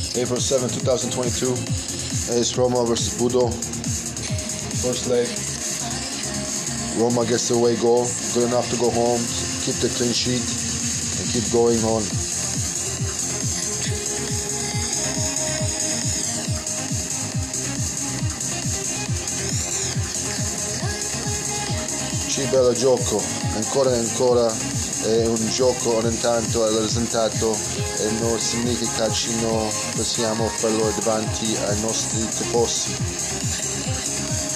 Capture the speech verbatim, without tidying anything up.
April seventh, twenty twenty-two. It's Roma versus Budo. First leg. Roma gets the away goal. Good enough to go home, keep the clean sheet, and keep going on. Ci bello gioco, ancora e ancora è un gioco ogni tanto è il risultato e non significa che non possiamo farlo davanti ai nostri tifosi.